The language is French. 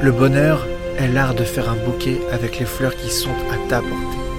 Le bonheur est l'art de faire un bouquet avec les fleurs qui sont à ta portée.